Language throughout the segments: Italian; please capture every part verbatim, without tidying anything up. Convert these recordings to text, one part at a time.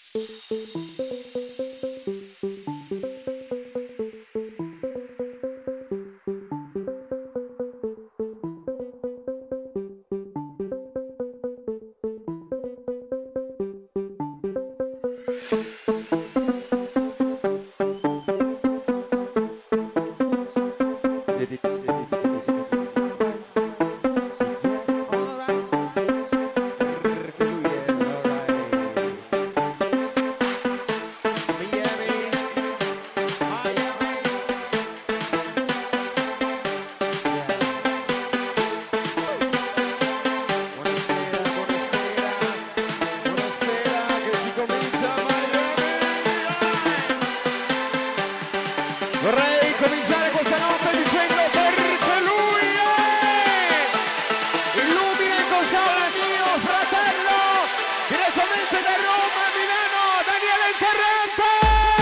Vorrei cominciare questa notte dicendo perché lui è illumina in console mio fratello direttamente da Roma, Milano, Daniele Interrante.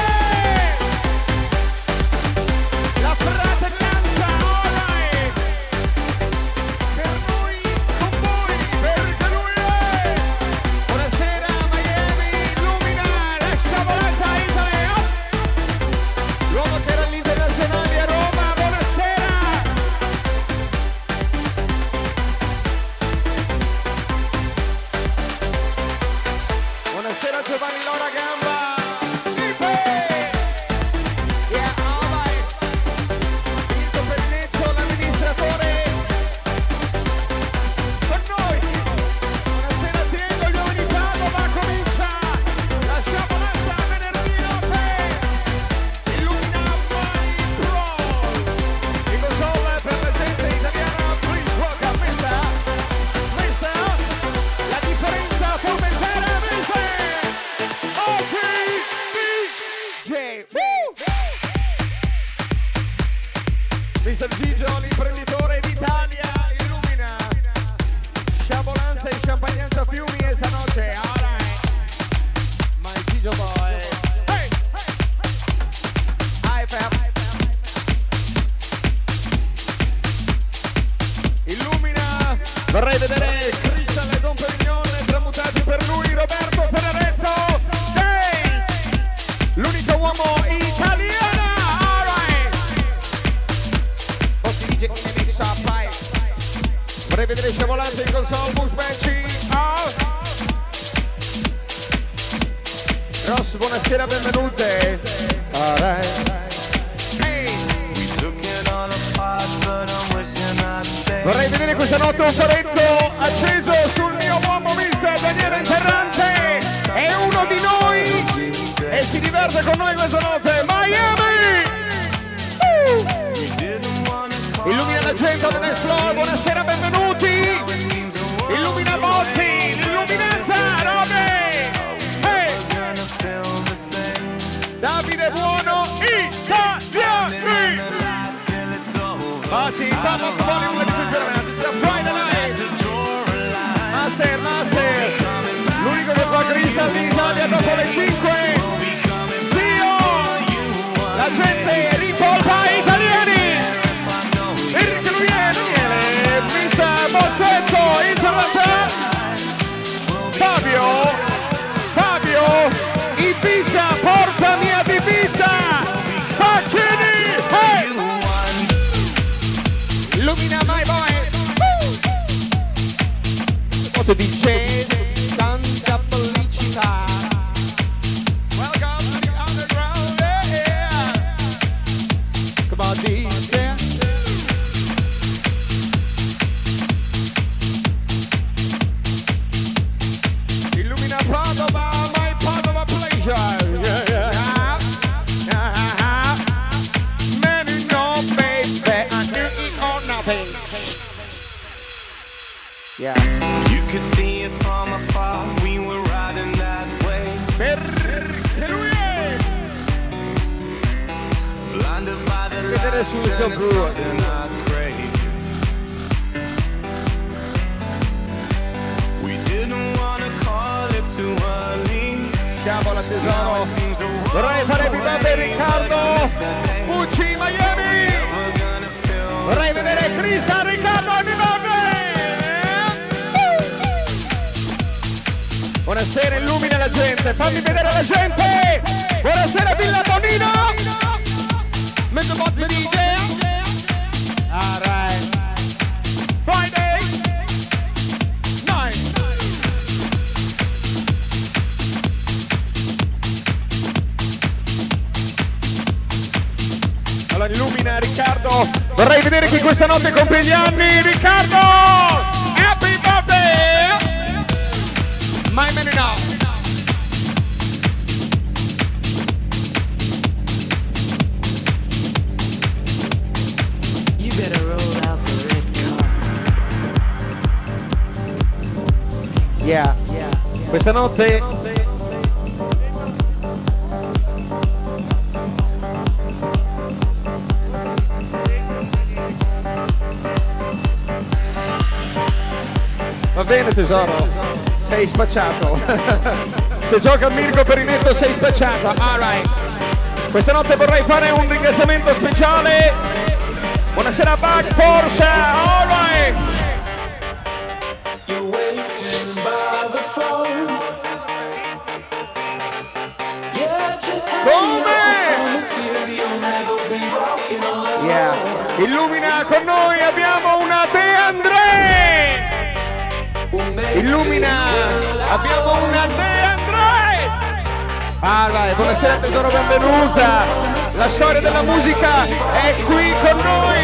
La fratellanza ormai per noi, con voi, perché lui è. Buonasera Miami, illumina la sciabolanza Italia. L'uomo che era all'Internazionale a Roma, buonasera! Buonasera Giovanni Lora Gamba! Yeah, all right. Vinto Pennetto, l'amministratore con noi! Buonasera Triengo, gli uomini Padova, comincia la sciabolanza venerdì notte! Illumina My Pro! In console per la gente italiana, please welcome mister, mister, la differenza formentera, mister, O G D J! mister Gigio, l'imprenditore d'Italia, illumina sciabolanza e champagnanza fiumi e stanotte, alright, my Gigio boy, hey, hi fam, illumina, vorrei vedere Christian e Don Perignon tramutati per lui, Roberto Ferraretto, hey, l'unico uomo italiano, alright, Bossi D J in mix up, vai, vorrei vedere sciabolanza in console, Bush Benci, oh. Ross, buonasera, benvenute. Alright. Hey. Vorrei vedere questa notte un paretto acceso sul mio uomo mister Daniele Interrante. È uno di noi e si diverte con noi questa notte. Miami! Uh. Illumina la gente al dance floor, buonasera, benvenuti. Illumina Bozzi, l'illuminanza, Robe. Hey. Davide Buono, Italiani! Bozzi, parla con Bollywood di qui Friday night! Master, master! L'unico che fa cristal in Italia dopo le cinque! Zio! La gente ripolpa italiani! Perché lui è Daniele, mister Bozzetto, Interrante! Fabio! Fabio! Ibiza, portami ad Ibiza! Facchini! Hey! Illumina my boy! Cosa dice? Tanta felicità! Welcome to the underground! Yeah! Come on, D J! Illumina Padova, my Padova pleasure! Yeah, yeah. Many no baby, I knew it or nothing. Yeah. You could see it from afar, we were riding that way. Perché lui è Blinded by the Vedere lights sul tuo and it's blu. something I crave. We didn't wanna call it too early. Sciabola Now tesoro. it seems a Vorrei fare più grande Riccardo Pucci Miami. Never gonna feel Vorrei vedere Cristian Riccardo e Buonasera, illumina la gente. gente, fammi vedere la gente. Buonasera Villa Bonino. Mezzo bozzo di D J. All right. Friday night. Allora illumina Riccardo. Vorrei vedere chi questa notte compie gli anni. Riccardo! Happy birthday! My man now. You better roll out the red carpet. Yeah. Yeah. Questa notte va bene tesoro, sei spacciato. Se gioca Mirko Perinetto sei spacciato. Alright. Questa notte vorrei fare un ringraziamento speciale. Buonasera Bug Force. Alright. You're waiting by the phone. Yeah, just Come? Yeah. Illumina con noi abbiamo una De André. Illumina, abbiamo una De André! Ah, vai, buonasera tesoro, benvenuta! La storia della musica è qui con noi!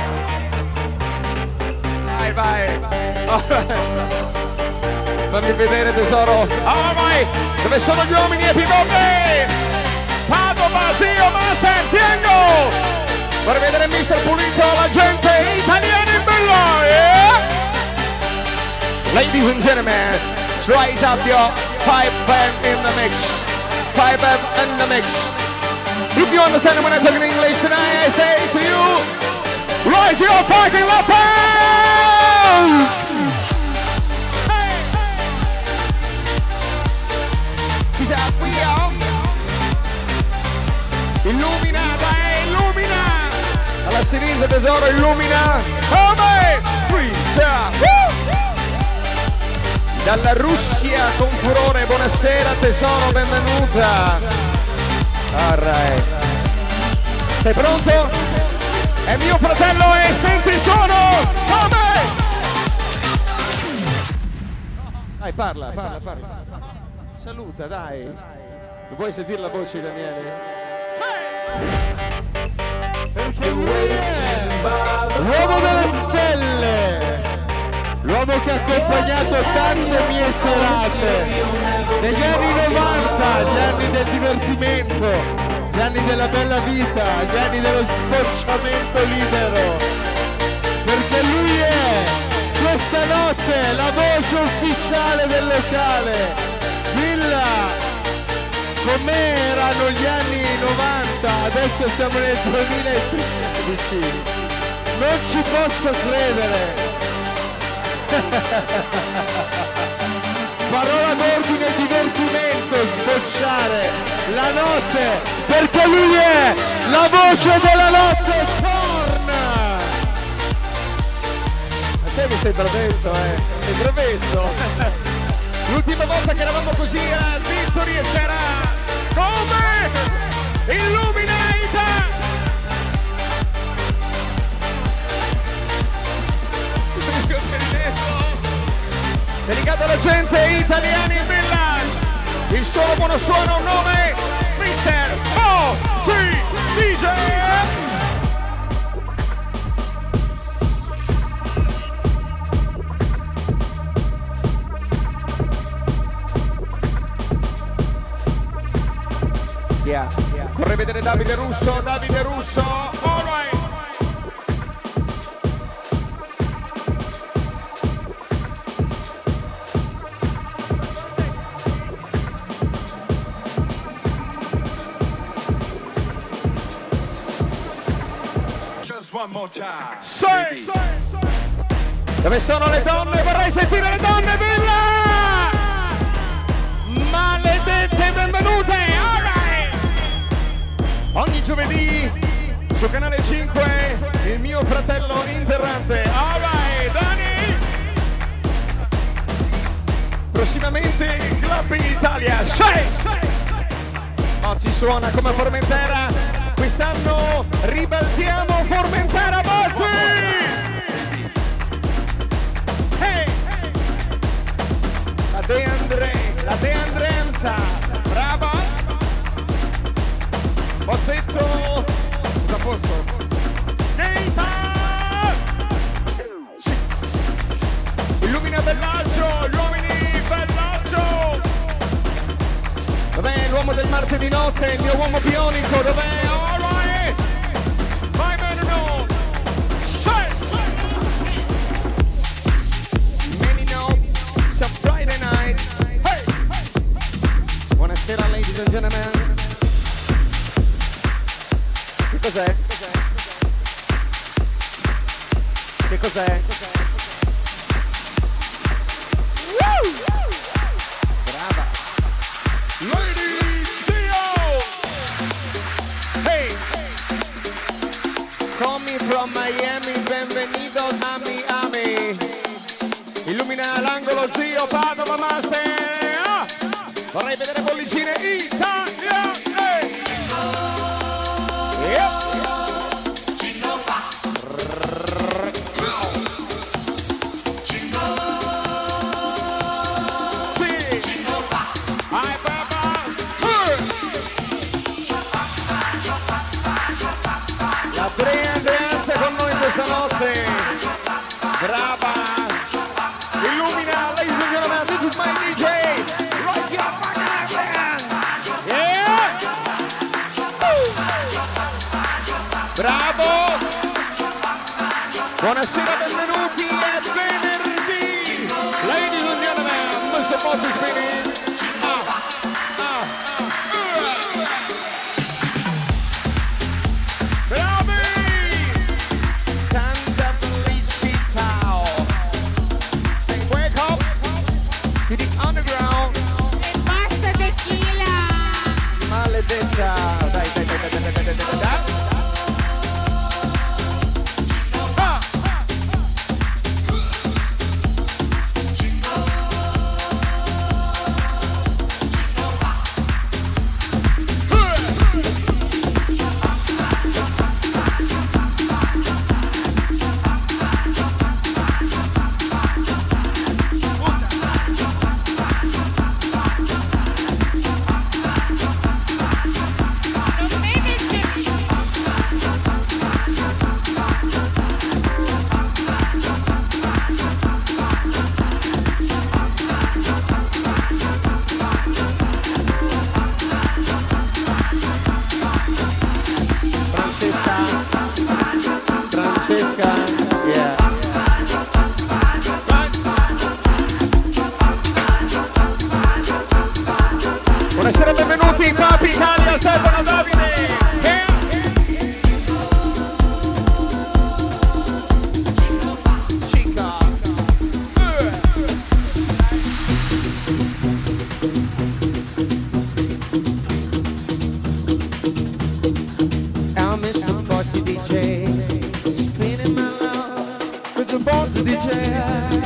Vai, vai! Oh, fammi vedere tesoro! Ah, vai! Dove sono gli uomini e pivote? Padova, zio, master, Tiengo! Vorrei vedere mister Pulito, la gente italiana in bella, yeah? Ladies and gentlemen, rise up your five M in the mix. five M in the mix. If you understand when I talk in English tonight, I say to you, rise your fucking left hand! Hey, hey. He's out, we are. Illumina, dai, illumina! Alla sinistra tesoro, illumina! Come? Qui, woo! Dalla Russia con furore, buonasera tesoro, benvenuta. Alright. Sei pronto? È mio fratello e senti il suono! Come? Dai, parla, parla, parla. Saluta, dai. Vuoi sentire la voce, Daniele? L'uomo delle stelle! L'uomo che ha accompagnato tante mie serate negli anni novanta, gli anni del divertimento, gli anni della bella vita, gli anni dello sbocciamento libero, perché lui è questa notte la voce ufficiale del locale. Villa, com'erano gli anni novanta, adesso siamo nel duemilatredici, non ci posso credere. Parola d'ordine, divertimento, sbocciare la notte, perché lui è la voce della notte. Torna! A te mi sei bravetto, eh, sei bravetto. L'ultima volta che eravamo così a Victory e c'era come? Illuminata! Dedicato alla gente italiana in Milan, il suono buono suono, un nome, mister O C D J. Yeah, yeah. Vorrei vedere Davide Russo, Davide Russo, all right. One more time. Sei. Dove sono le donne? Vorrei sentire le donne, Villa! Maledette, benvenute! All right. Ogni giovedì su Canale cinque il mio fratello interrante. All right, Dani! prossimamente Club Italia. Sei! Oggi suona come Formentera, quest'anno ribaltiamo Formentera Bozzi! Hey! La De Andre, la De Andrenza, brava! Bozzetto, da posto. Neita! Illumina Bellagio, gli uomini Bellagio! Dov'è l'uomo del martedì notte, il mio uomo bionico, dov'è? All right! My man no! Shut! Many know, it's a Friday night. Hey! Buonasera ladies and gentlemen. Che cos'è? Che cos'è? Woo! Brava! Lady Dio! Hey! Coming from Miami, benvenidos a Miami. Illumina l'angolo zio Padova Master. Ah! Vorrei vedere bollicine Italia! Hey! Yep! Notte, brava, illumina, ladies and gentlemen, this is my D J, rock your fucking band, yeah, bravo, buonasera, benvenuti, è venerdì, ladies and gentlemen, mister Moses Spinning, ah, ah, uh. Bravi! Maledetta, dai, dai, dai, dai, dai, dai, dai, dai, dai. Ah. Buonasera, benvenuti in Club Italia, Stefano Davide. Yeah. Chica. Uh. I'm mister Bossy D J, spinning my love with the Bossy D J.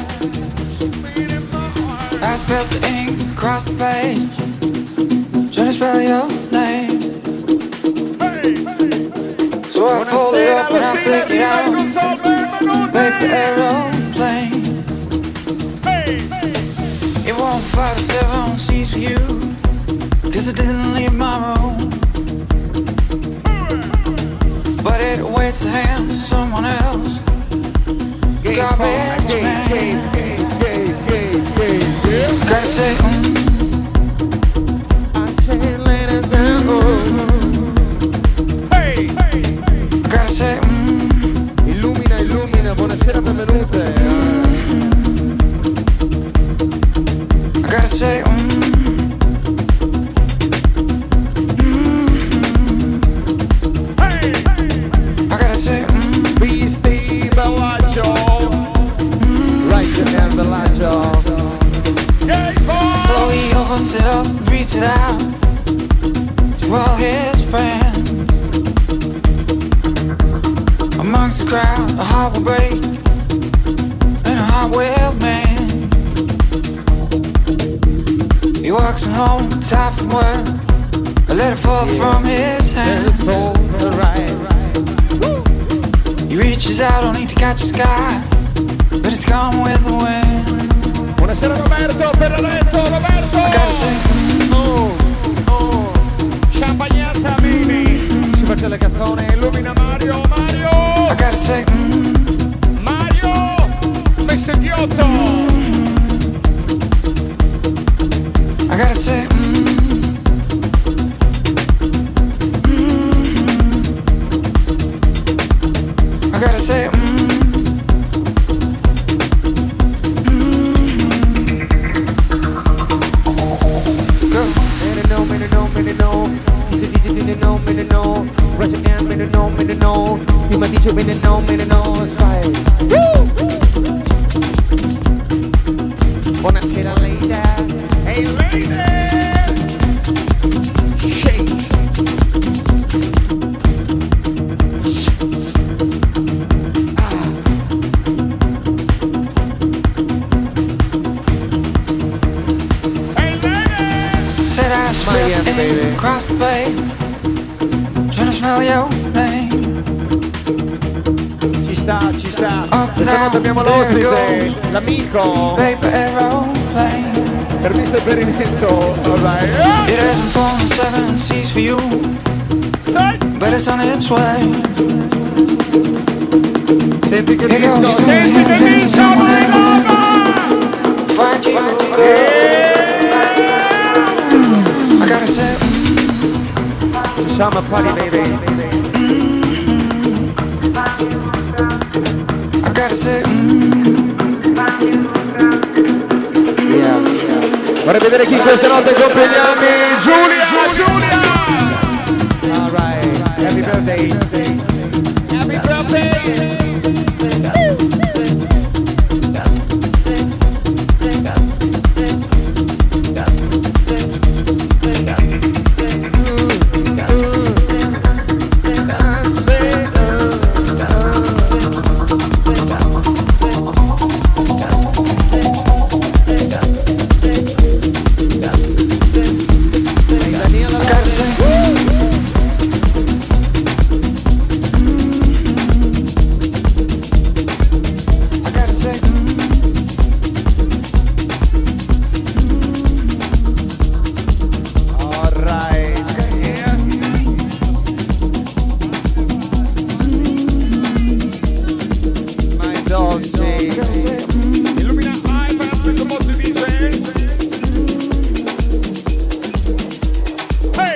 I spilled the ink across the page, trying to spell your name. Hey, hey. So I fold it up and I flick it out. Paper aeroplane. Hey, hey. It won't fly to seven seats for you, cause I didn't leave my room. But it awaits the hands of someone else. Garbage man. Gotta say, mm. I say let it down. Hey, hey. Gotta say, mm. Illumina, illumina, buonasera, benvenute. I gotta say, mm. Mm. Hey, hey. I gotta say, mm. Beastie Bellagio. Mm. Right to hand Bellagio. So he opens it up, reads it out to all his friends. Amongst the crowd, a heart will break and a heart will mend. He walks home, tired from work. I let it fall from his hands. He reaches out only to catch the sky, but it's gone with the wind. Buonasera Roberto, Ferraretto, Roberto! I gotta say, Oh, oh, champagnazza baby! Si faccia le canzoni, illumina Mario, Mario! I gotta say, mm, Mario! mister Ghiotto! I gotta say, mm, I gotta say, mm, go. Me no, me no, me no, D J, D J, me no, me no, Russian man, me no, me no, Tima D J, me no, me no, sai. Buonasera lady, hey lady, shake. Said I slipped in across the bay, trying to smell your name. Ci sta, ci sta. Up Questa now, volta abbiamo there l'ospite, goes l'amico, paper aeroplane. per mister Perimento. Alright. It hasn't flown seven seas for you, but it's on its way. Senti che It goes disco, from senti hands che into disco, someone's my hands. Find you, girl. I gotta say, Summer party baby. I gotta say, mm, Yeah. Vorrei vedere chi questa notte compie gli anni. Giulia, Giulia. Alright, happy birthday. Happy birthday. I gotta say, I gotta say, Alright. Yeah. My dolce. Illumina iPad questo posto di D J. Hey!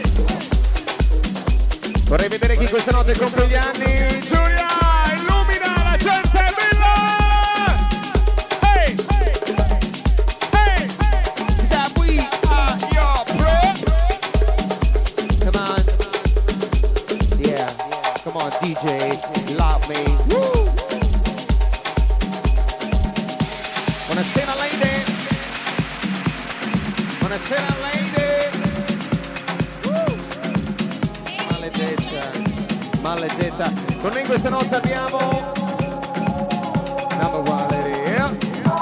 Vorrei vedere chi questa notte compie gli anni. Giulia, illumina la gente bella! Hey! Hey! Say we are your bro. Come on. Yeah. Come on, D J. Love me. Woo! Buonasera lady. Buonasera lady. Woo! Maledetta. Maledetta. Con noi questa notte abbiamo number one lady. Yeah.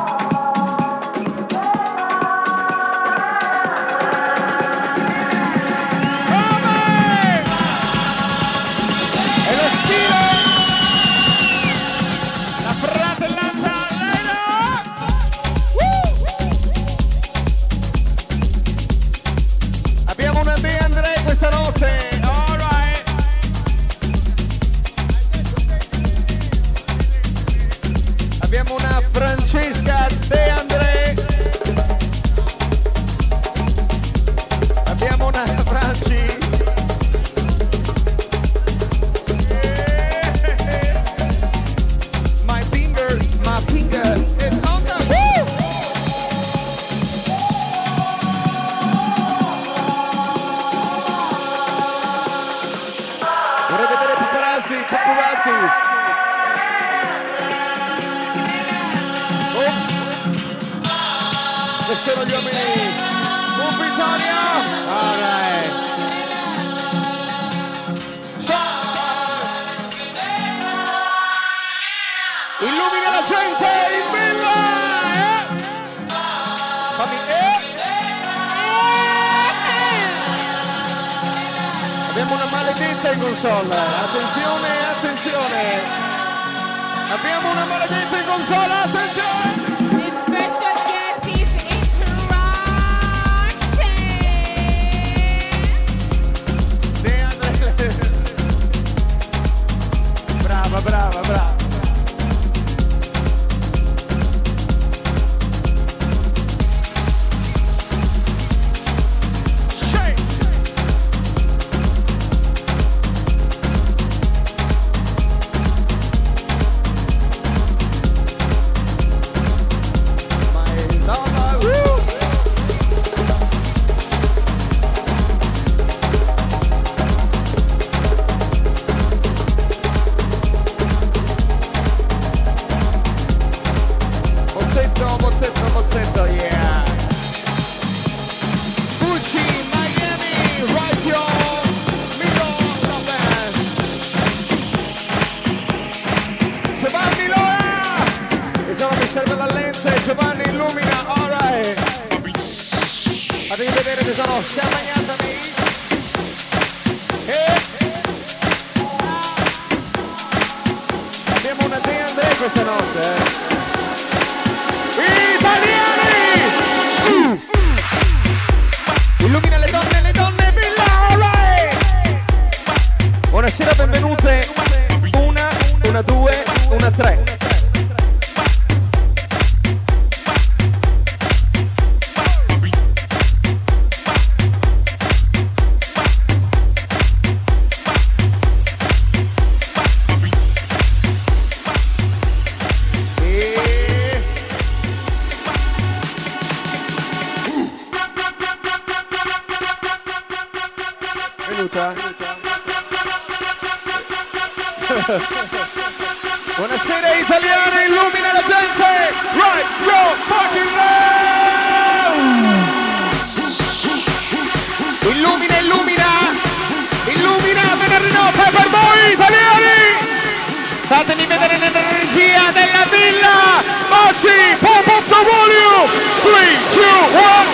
E lo stile, la fratellanza Lena. Woo! Abbiamo una De André questa notte. Alright. Abbiamo una Francesca De André. Abbiamo una Franci. My finger, my finger is on the woo! Vorrei vedere paparazzi, paparazzi. Uff. Questi sono gli uomini. Uff, Italia! Alright. Illumina la gente in villa! Eh? Fammi, eh? maledetta in console. Attenzione, attenzione. Abbiamo una maledetta in console, attenzione. This special guest is interrupted. Brava, brava, brava. Buonasera italiani, illumina la gente! Right, go, fucking now! Illumina, illumina! Illumina, venerdì notte per voi italiani! Fatemi vedere l'energia della villa! Mossi, pump up the volume! three, two, one!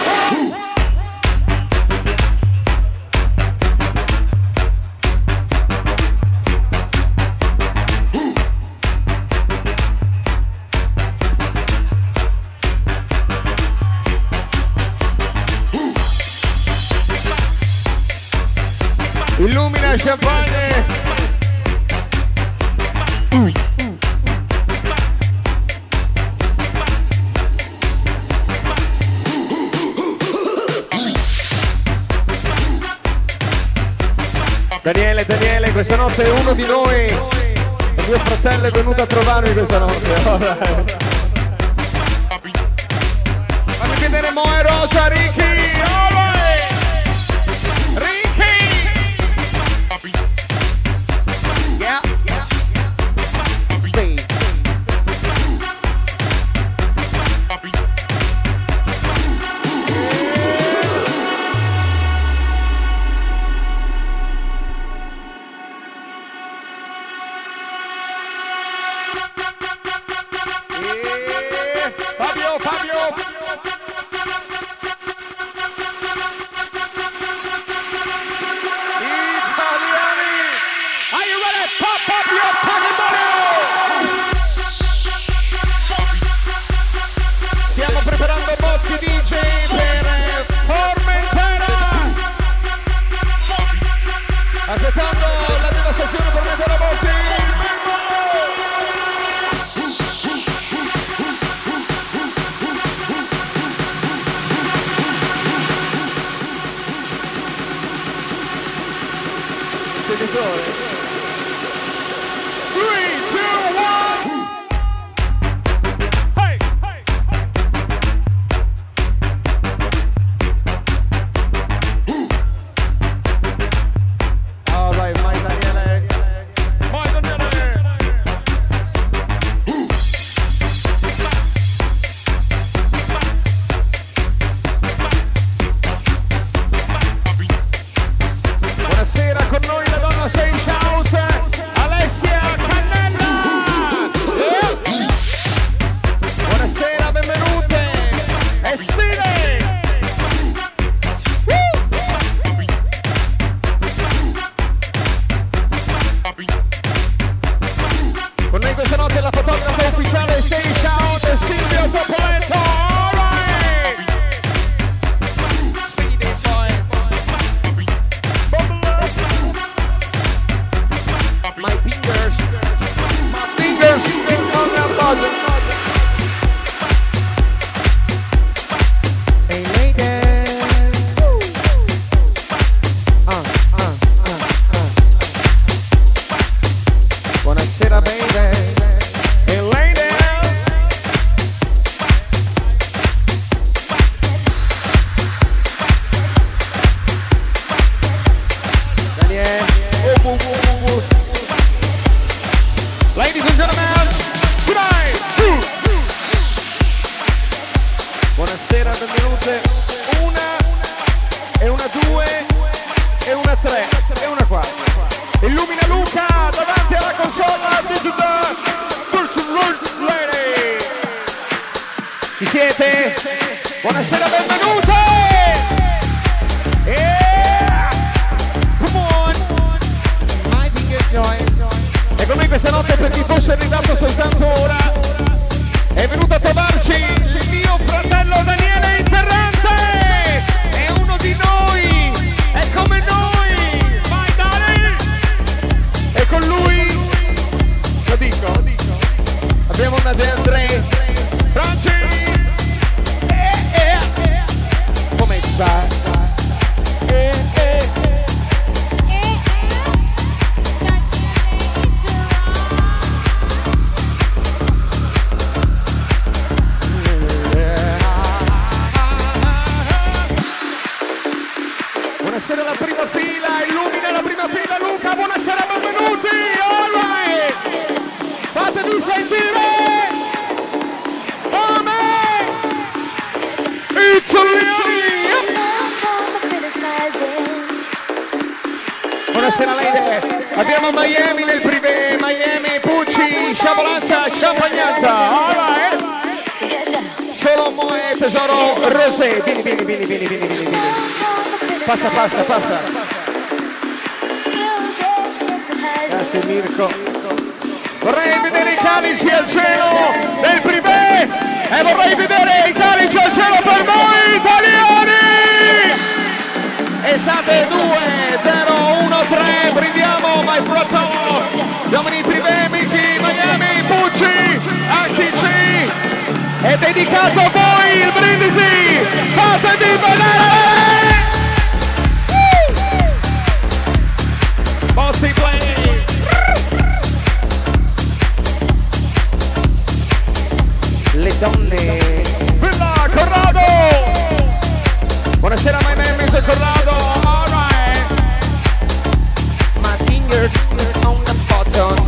Illumina champagne. Uh. Daniele, Daniele, questa notte uno di noi, il mio fratello, è venuto a trovarmi questa notte. Right. Fammi vedere Moe Rosa, Ricky. All right. Ricky. Yeah. Stay. Fabio, Fabio. Italiani. Are you ready? Pop up your pocket money. Stiamo preparando Bossi D J per Formentera. Aspettando la devastazione per mettere la Bossi. three, two, one. Hey, hey. All right, my Daniele. My Daniele. Buonasera con noi la donna Sei, ciao. due e una tre e una quattro. Illumina Luca davanti alla console Digital Lady. Ci siete? Buonasera, benvenute! Yeah! Come on! E con me questa notte, per chi fosse arrivato soltanto ora, è venuto a trovarci il mio fratello Daniele Interrante! È uno di noi! È come noi! Vai Dani! E con lui, lo dico, lo dico, abbiamo una De André, Franci! Eh, eh, eh. Come sta? Eh, eh. Buonasera alla prima fila, illumina la prima fila Luca, buonasera, benvenuti! All right! Fatevi sentire! Amen! Italiani! Buonasera Leide, abbiamo Miami nel privé, Miami, Pucci, Sciabolazza, Champagnazza, all right! Solo Moe, tesoro, Rosé, vieni, vieni, vieni, vieni, vieni, vieni, vieni. Passa, passa, passa. Grazie Mirko. Vorrei vedere i calici al cielo del privé e vorrei vedere i calici al cielo per voi italiani. Esate due zero uno tre, brindiamo my fratello. Domini privé, Mickey, Miami, Pucci, H C. È dedicato a voi il brindisi. Fatevi vedere. Bossy play! Le donne! Villa Corrado! Buonasera, my name is Corrado! Alright! My finger on the button.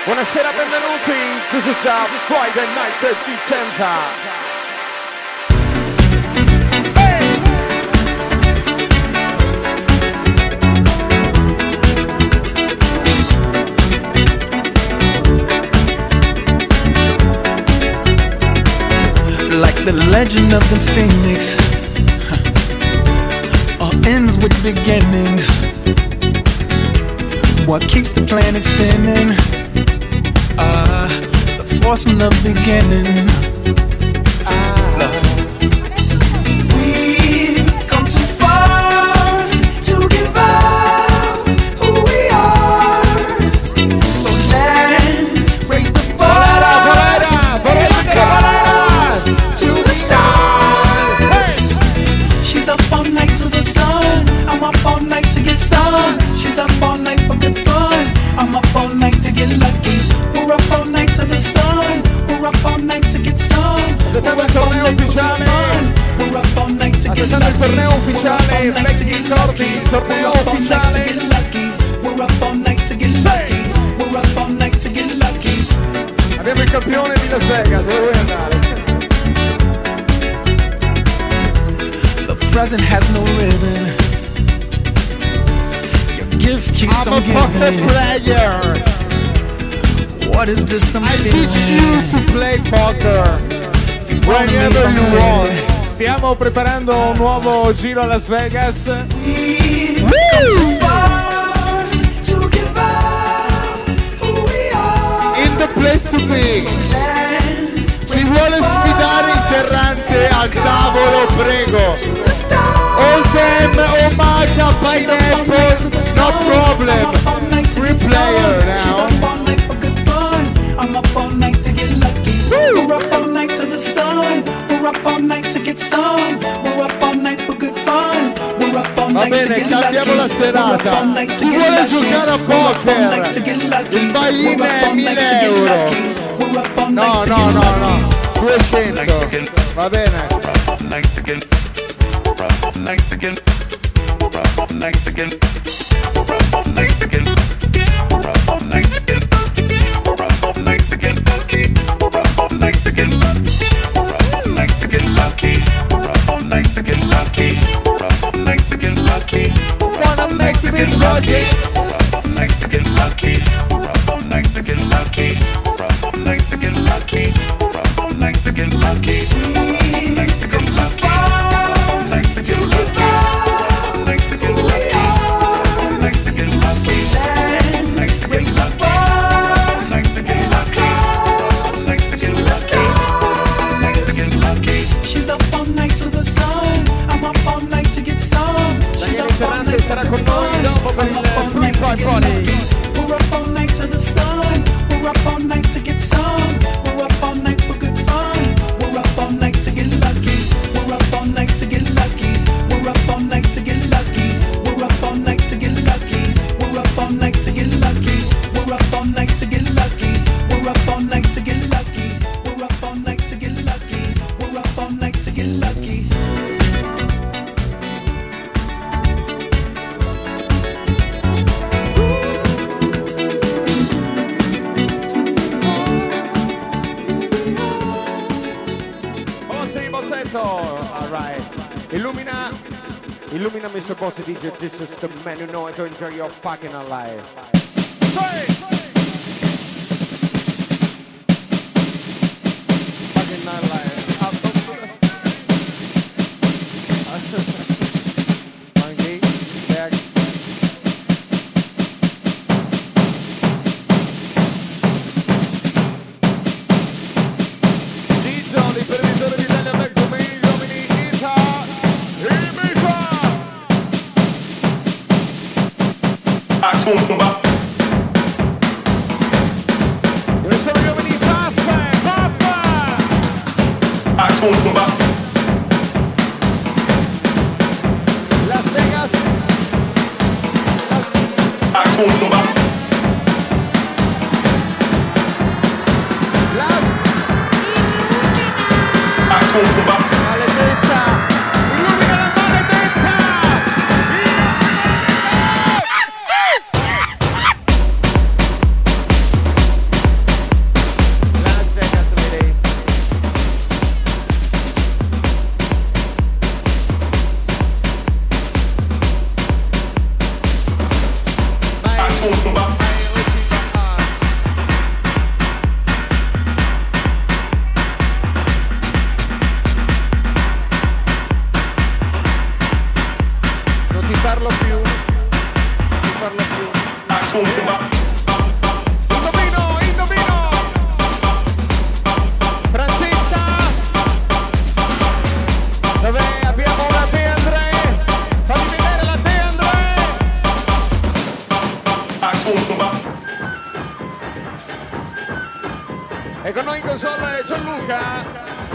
Buonasera, benvenuti. This is a Friday night at Vicenza. Like the legend of the phoenix, huh. All ends with beginnings. What keeps the planet spinning? Uh, the force from the beginning. Uh, we've come too far to give up who we are. So let's raise the bar. To the stars. She's up all night to the sun. I'm up all night to get sun. She's up all night for good fun. I'm up all night to get lucky. We're up all night to the sun. We're up all night to get sun. We're up all night for good fun. We're up all night to get lucky. We're up all night to get lucky. We're up all night to get lucky. We're up all night to get lucky. We're up all night to get lucky. Abbiamo il campione di Las Vegas, dove vuoi andare? Present has no ribbon. Your gift keeps I'm on a fucking giving. player. What is this I'm I teach you feeling? to play poker If you wanna whenever leave, you I'm want. ready. Stiamo preparando un nuovo giro a Las Vegas. We've come too far to give up who we are. In the place to be. Chi vuole sfidare Interrante al tavolo, prego. All them, Omaka, Pineapple, no problem. Three player now. I'm up all night to get lucky. We're up all night to the sun. We're up all night to get sun. We're up all night for good fun. We're up all Va night to bene, get lucky. cambiamo la serata. Chi vuole giocare a poker? Il buy-in è mille euro. No, no, no, no. duecento. Va bene. Wanna make the big project. Sarà con noi dopo per il Free Poi Volley. We're up all night to the sun. We're up all night to get sun. We're up all night for good fun. We're up all night to get lucky. We're up all night to get lucky. We're up all night to get lucky. We're up all night to get lucky. We're up all night to get lucky. We're up all night to get lucky. We're up all night to get lucky. We're up all night to get lucky. We're up all night to get lucky. Alright. Illumina Illumina mister Bossy D J. This is the man who know how to enjoy your fucking life. Fucking nightlife. Monkey, back. Gizzo, l'imprenditore di Italia Black Domain, gli uomini Ita, Ibiza! Dove sono gli uomini Paffa, Paffa! Las Vegas! Las... Las... Maledetta! Illumina la maledetta! ci parlo più, ci parlo più. Indovino, indovino. Francesca, dove abbiamo la De André? Fammi vedere la De André. E con noi in console Gianluca.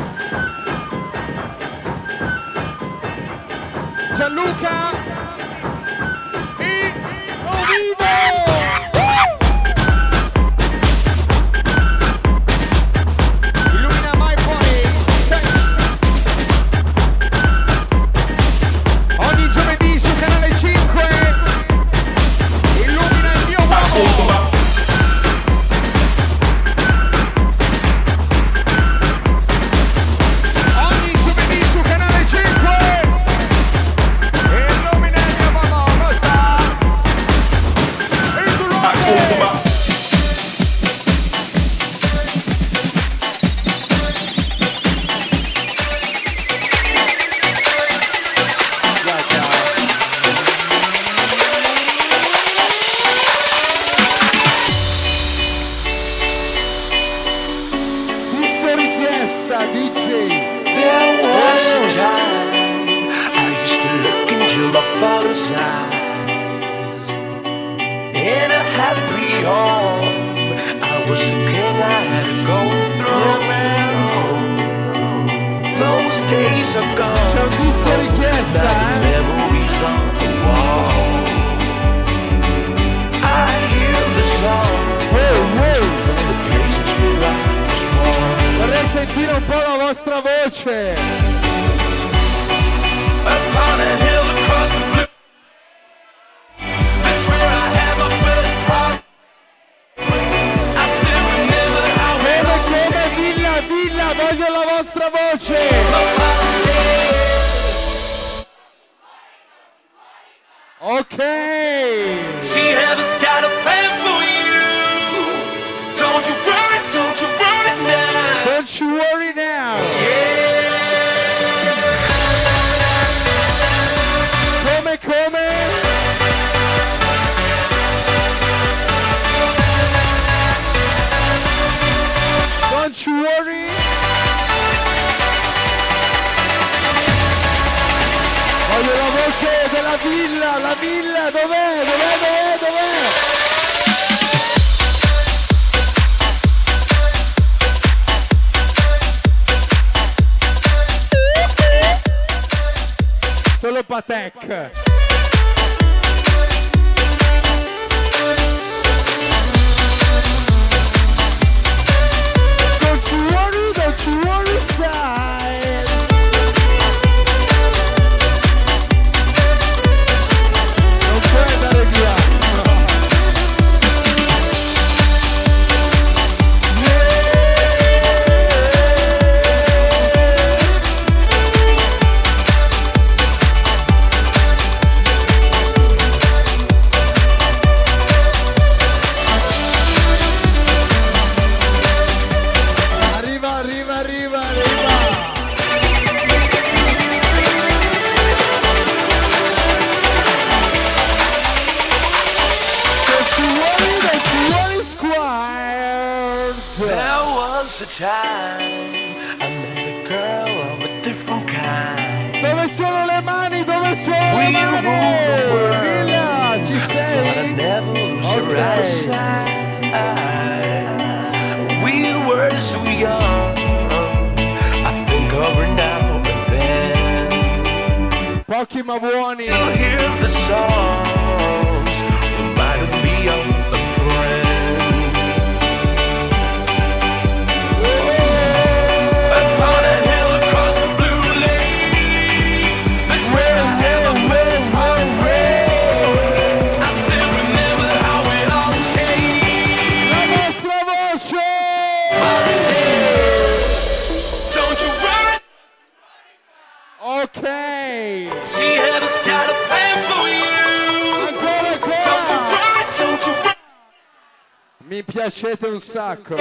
Gianluca e Ovivo! Illumina My Body. Ogni giovedì su Canale cinque illumina il mio uomo. Ogni giovedì su Canale cinque illumina il mio uomo. Lo sta il tuo uomo. Disco richiesta, D J. There was a time I used to look into my father's eyes. In a happy home, I was a king, I had to go through. Those days are gone. C'è un disco richiesta, Now the eh? memories on the wall. I hear the song Wow, wow. from the places where I was born. Vorrei sentire un po' la vostra voce. Upon a hill across the blue. That's where I had my first heart. I still remember how it Come, all come, changed. Villa, Villa, voglio la vostra voce. My father said, Ok. see, heaven's got a plan for you. Don't you worry, don't you worry now. Don't you worry now. Come, come? Don't you worry. Voglio la voce della villa, la villa, dov'è? Dov'è, dov'è, dov'è? Solo Patek. Don't you worry, don't you worry, side. Non puoi andare via. Arriva, arriva, arriva, arriva. Don't you worry, don't you worry, squire. there was a time I met a girl of a different kind. Dove sono le mani? Dove sono We le rule the mani? world. Villa, ci Thought I'd sei? never lose her Okay. outside. We were so young. I think of her now and then. Pochi ma buoni. You'll hear the songs reminding me of a friend. Upon a hill across the blue lake, that's where I had my first heartbreak. I still remember how it all changed. La vostra voce. Father said, don't you worry, Ok. see heaven's got a plan for you. Ancora, Don't you ancora. worry, don't you worry. Mi piacete un sacco.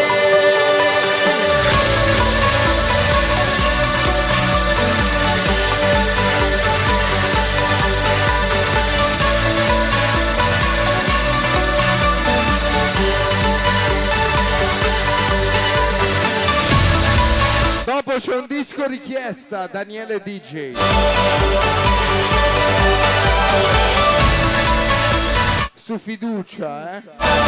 c'è un disco richiesta, Daniele D J. Su fiducia, eh?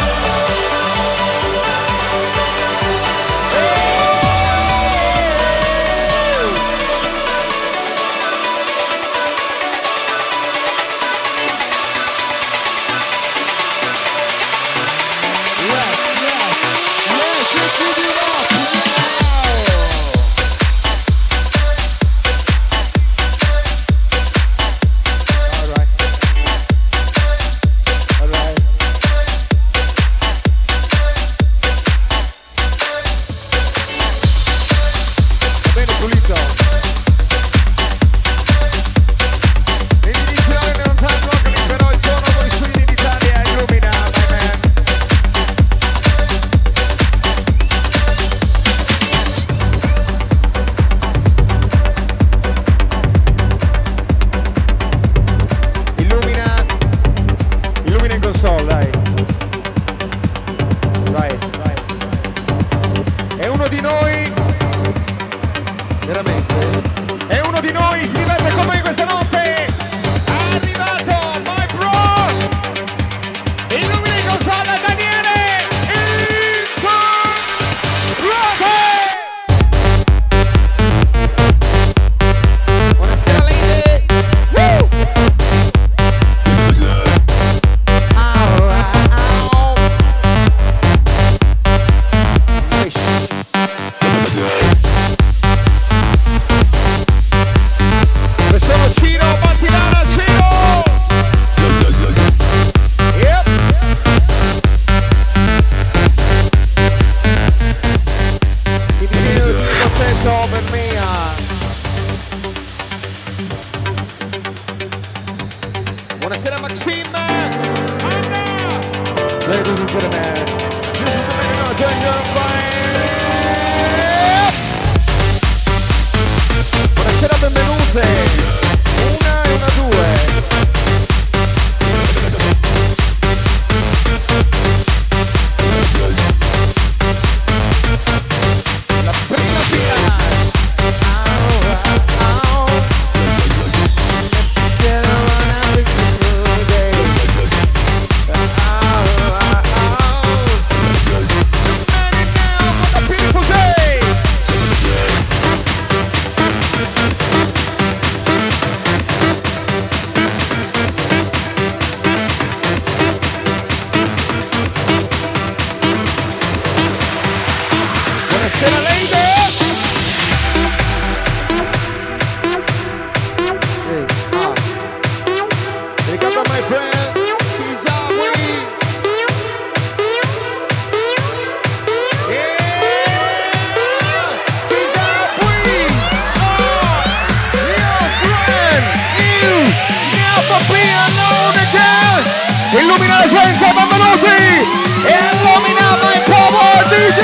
Illumina la gente, benvenuti! E illumina my power D J!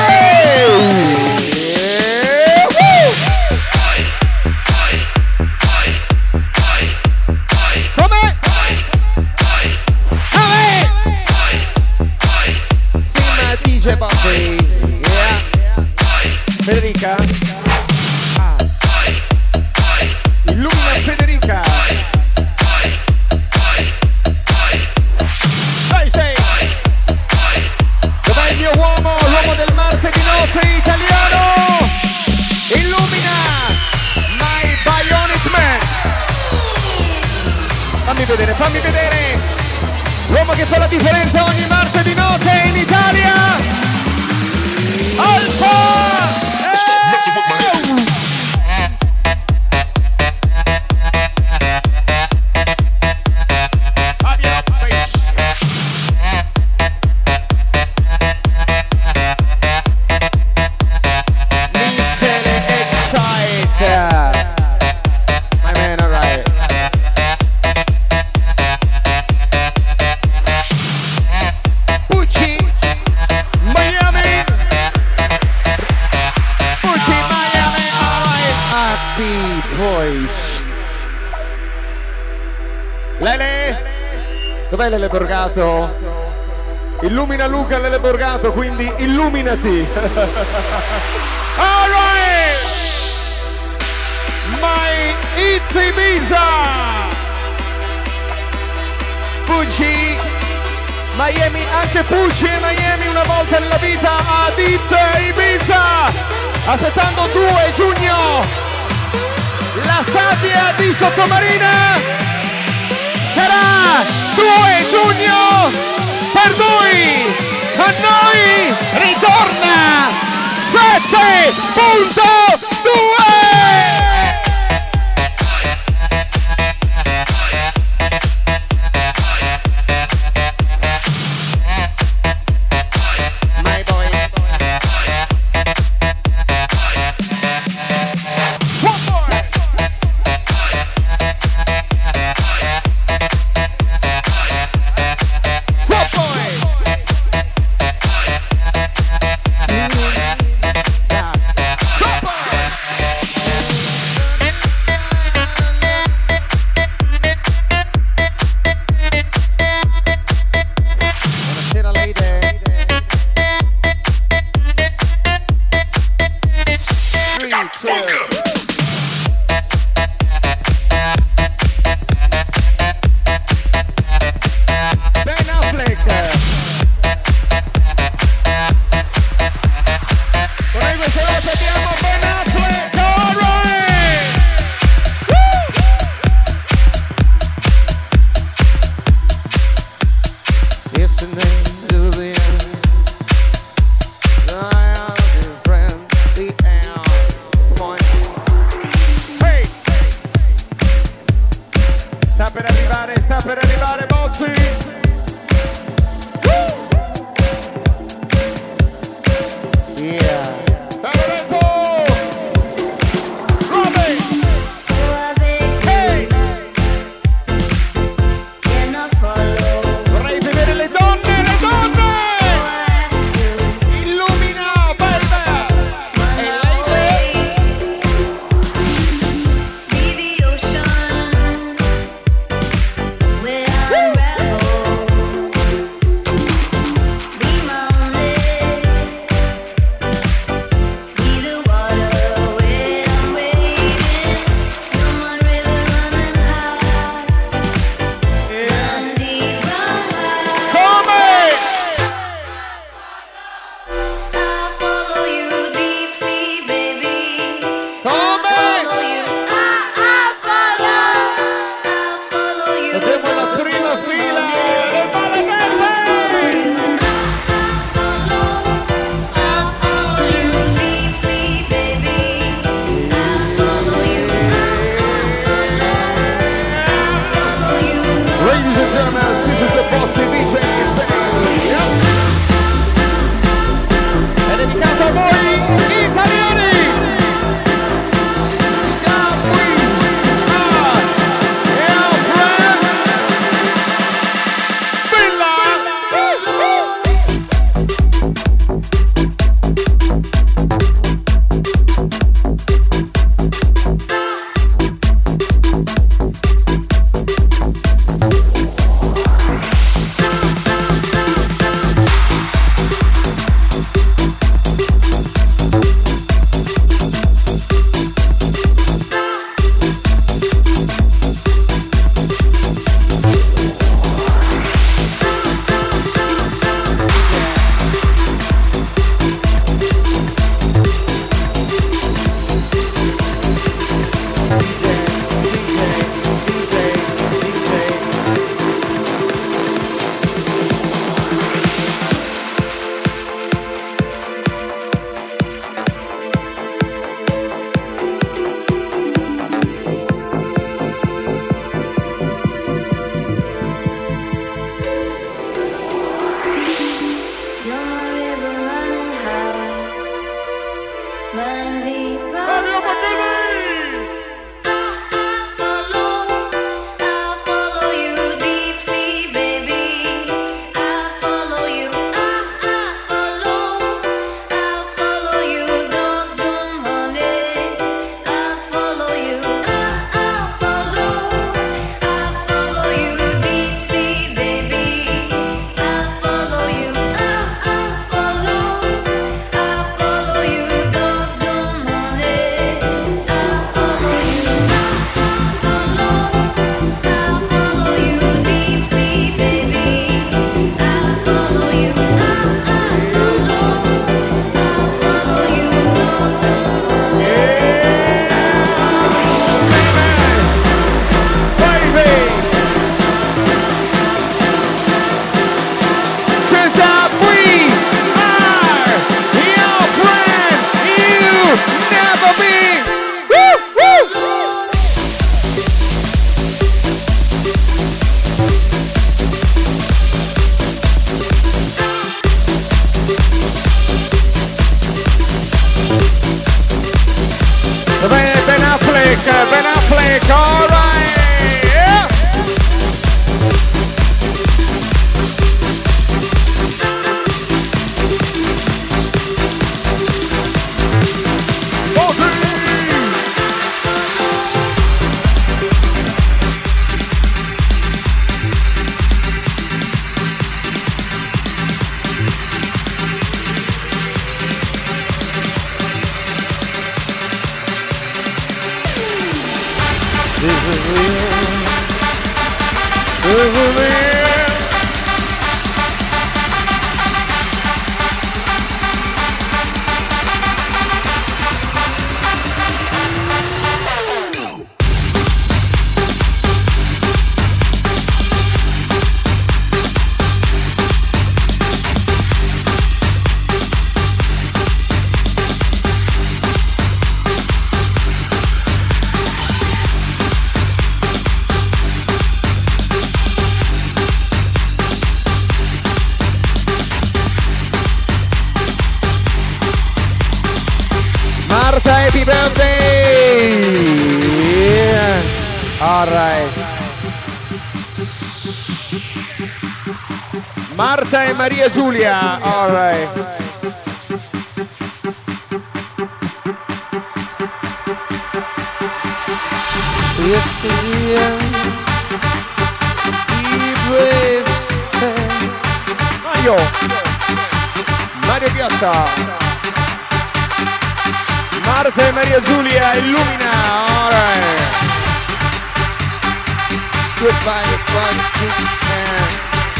Come? Come? Sim D J Bobby. Yeah. Federica? Ah. Illumina Federica. Dov'è il mio uomo, l'uomo del martedì notte italiano? Illumina my Bionic Man. Fammi vedere, fammi vedere l'uomo che fa la differenza ogni martedì notte in Italia. Alfa! Lele? Dov'è Lele Borgato? Illumina Luca Lele Borgato, quindi illuminati. All right! Beat Ibiza. Pucci, Miami, anche Pucci e Miami una volta nella vita a Beat Ibiza. Aspettando due giugno, la sabbia di Sottomarina sarà due giugno per noi. A noi ritorna sette punto due. Alright. Marta e Maria Giulia. Alright. Mario Mario Piotta, Marta e Maria Giulia, illumina. Alright. Goodbye, goodbye.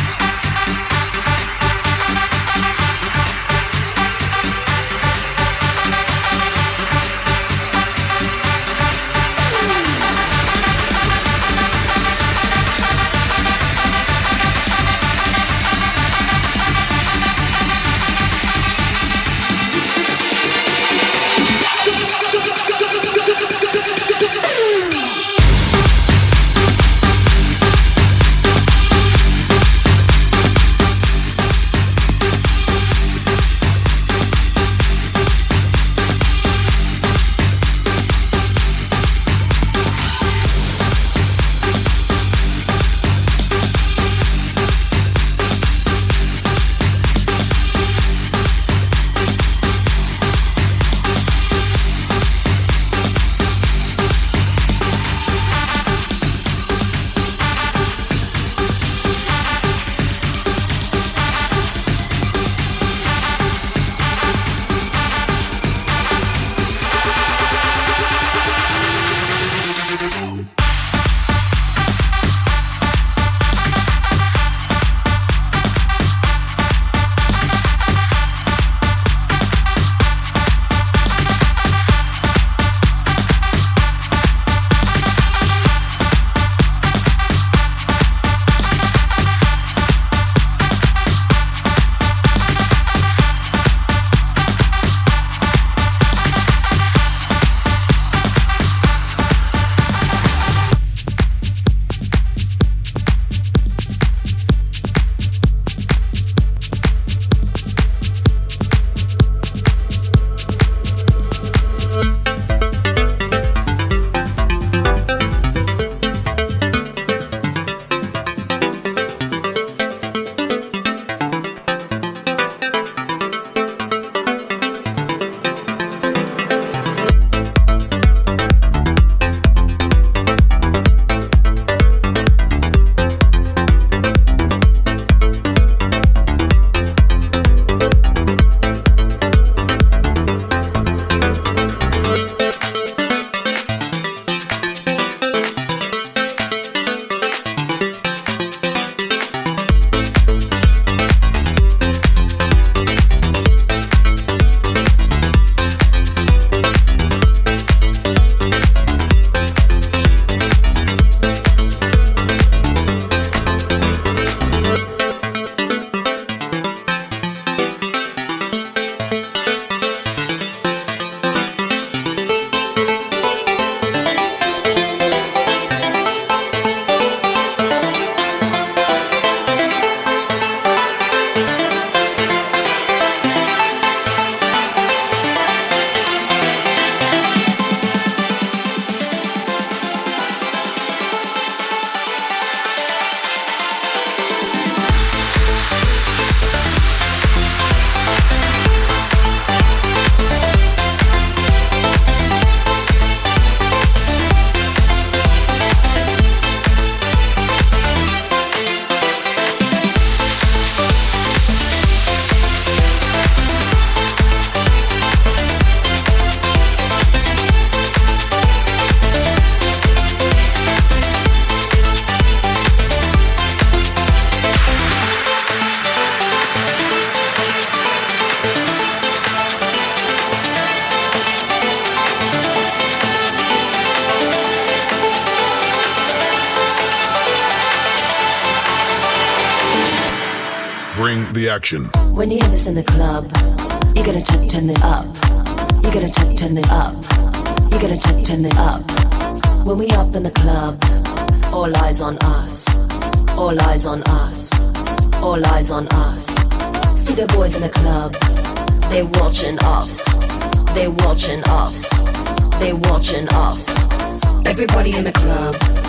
Bring the action. When you hear this in the club, you gotta turn, turn it up. You gotta turn, turn it up. You gotta turn, turn it up. When we up in the club, all eyes on us. All eyes on us. All eyes on us. See the boys in the club, they watching us. They watching us. They watching us. Everybody in the club,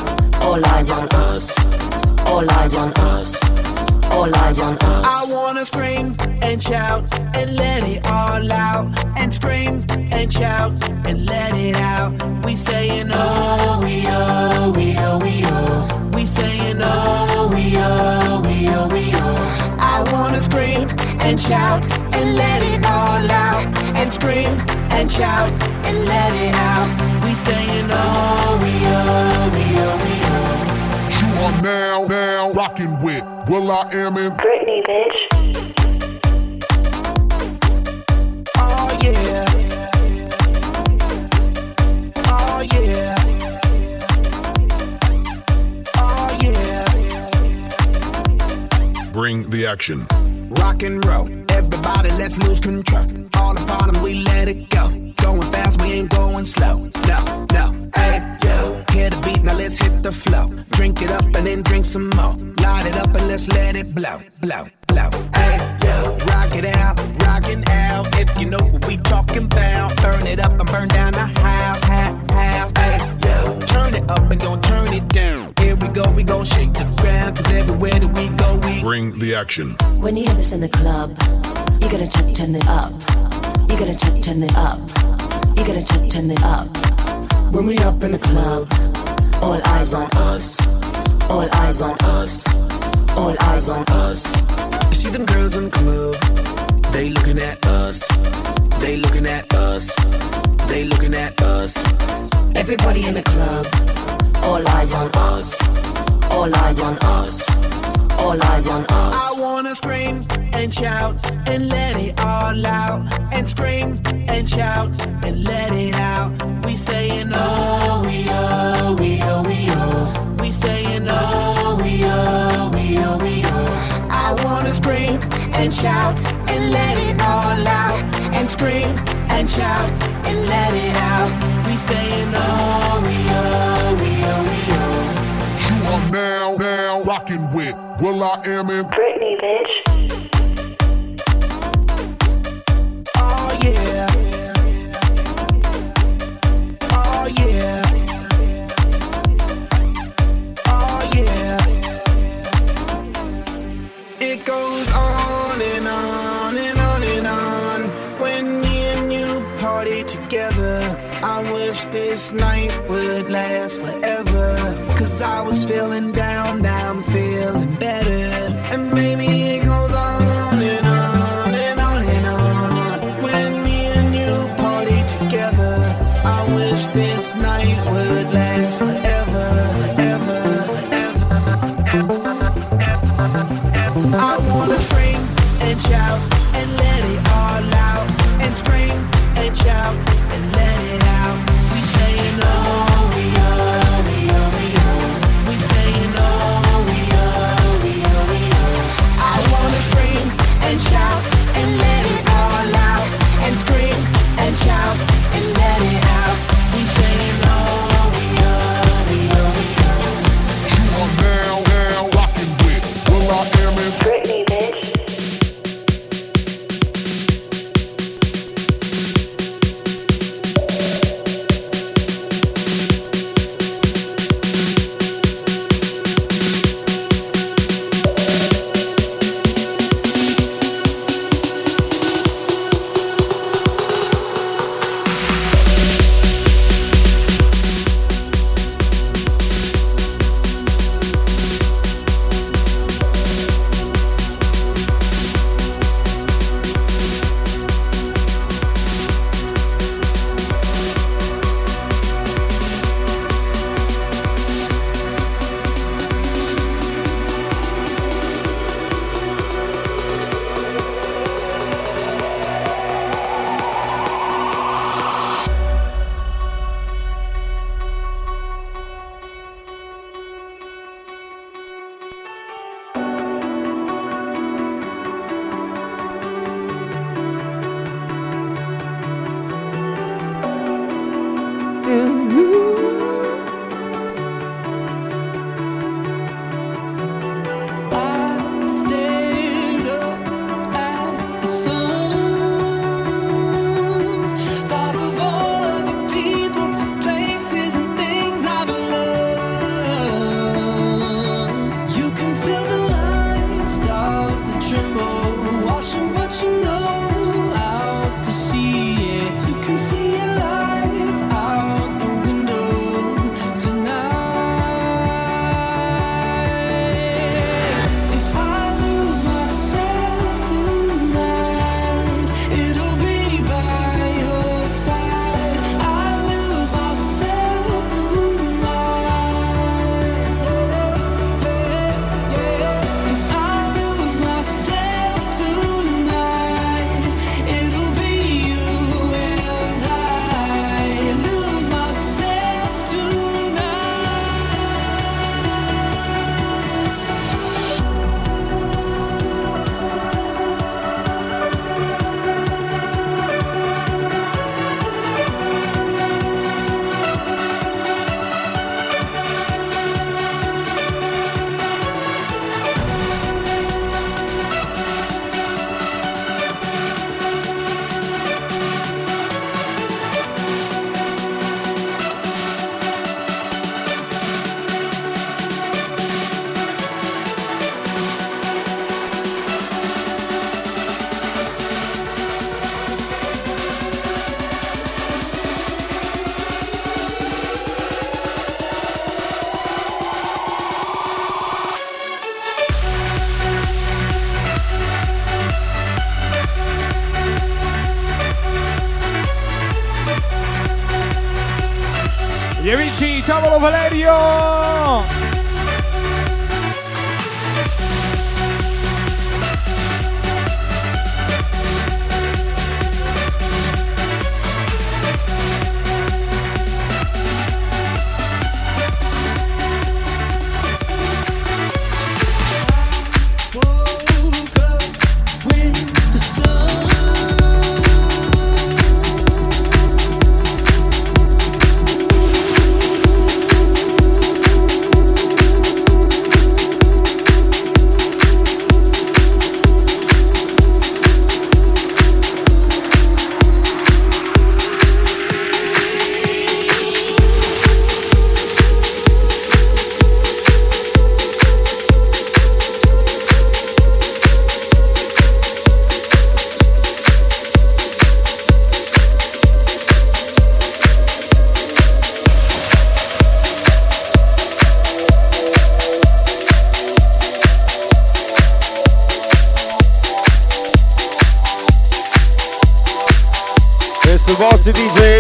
All eyes on us. All eyes on us. All eyes on us. I wanna scream and shout and let it all out. And scream and shout and let it out. We saying oh, we oh, we oh, we oh. We saying oh, we oh, we oh, we oh. I wanna scream and shout and let it all out. And scream and shout and let it out. We saying oh, we oh, we oh, we oh. You are now, now rocking with Will I Am in Britney, bitch. Oh yeah. Oh yeah. Oh yeah. Bring the Action. Rock and roll, everybody let's lose control. All the bottom we let it go. Going fast, we ain't going slow. No, no, hey, yo. Hear the beat, now let's hit the flow. Drink it up and then drink some more. Light it up and let's let it blow, blow, blow. Hey, yo. Rock it out, rockin' out. If you know what we talking about. Burn it up and burn down the house, house, house. Hey, yo. Turn it up and don't turn it down. Here we go, we gon' shake the ground. Cause everywhere that we go, we Bring the Action. When you hear this in the club, you gotta turn, turn it up. You gotta turn, turn it up. You gotta turn, turn it up. When we up in the club, all eyes on us. All eyes on us. All eyes on us. You see them girls in the club, they looking at us. They looking at us. They looking at us. Everybody in the club, all eyes on us. All eyes on us. All eyes on us. I wanna scream and shout and let it all out. And scream and shout and let it out. We saying oh, we oh, we oh, we oh. We saying oh, we oh, we oh, we oh. I wanna scream and shout and let it all out. And scream and shout and let it out. We saying oh, we oh, we oh, we oh. You are now, now rocking with Will I Am in Britney, bitch. Oh yeah. Oh yeah. Oh yeah. It goes on and on and on and on. When me and you party together, I wish this night would last forever. Cause I was feeling down, now I'm feeling better. And maybe it goes on and on and on and on. When me and you party together, I wish this night would last forever, forever, forever, forever, forever. I wanna scream and shout and let it all out. And scream and shout and let it out. We saying oh, we oh, we oh, we oh. We saying oh, we oh, we oh, we oh. I wanna scream and shout and let it all out. And scream and shout and let it out. We saying oh, we oh, we oh, we oh. You are now, now rocking with Will I Am in Britney, bitch. Gli amici Tavolo Valerio! Boss D J.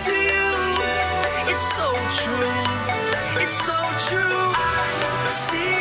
See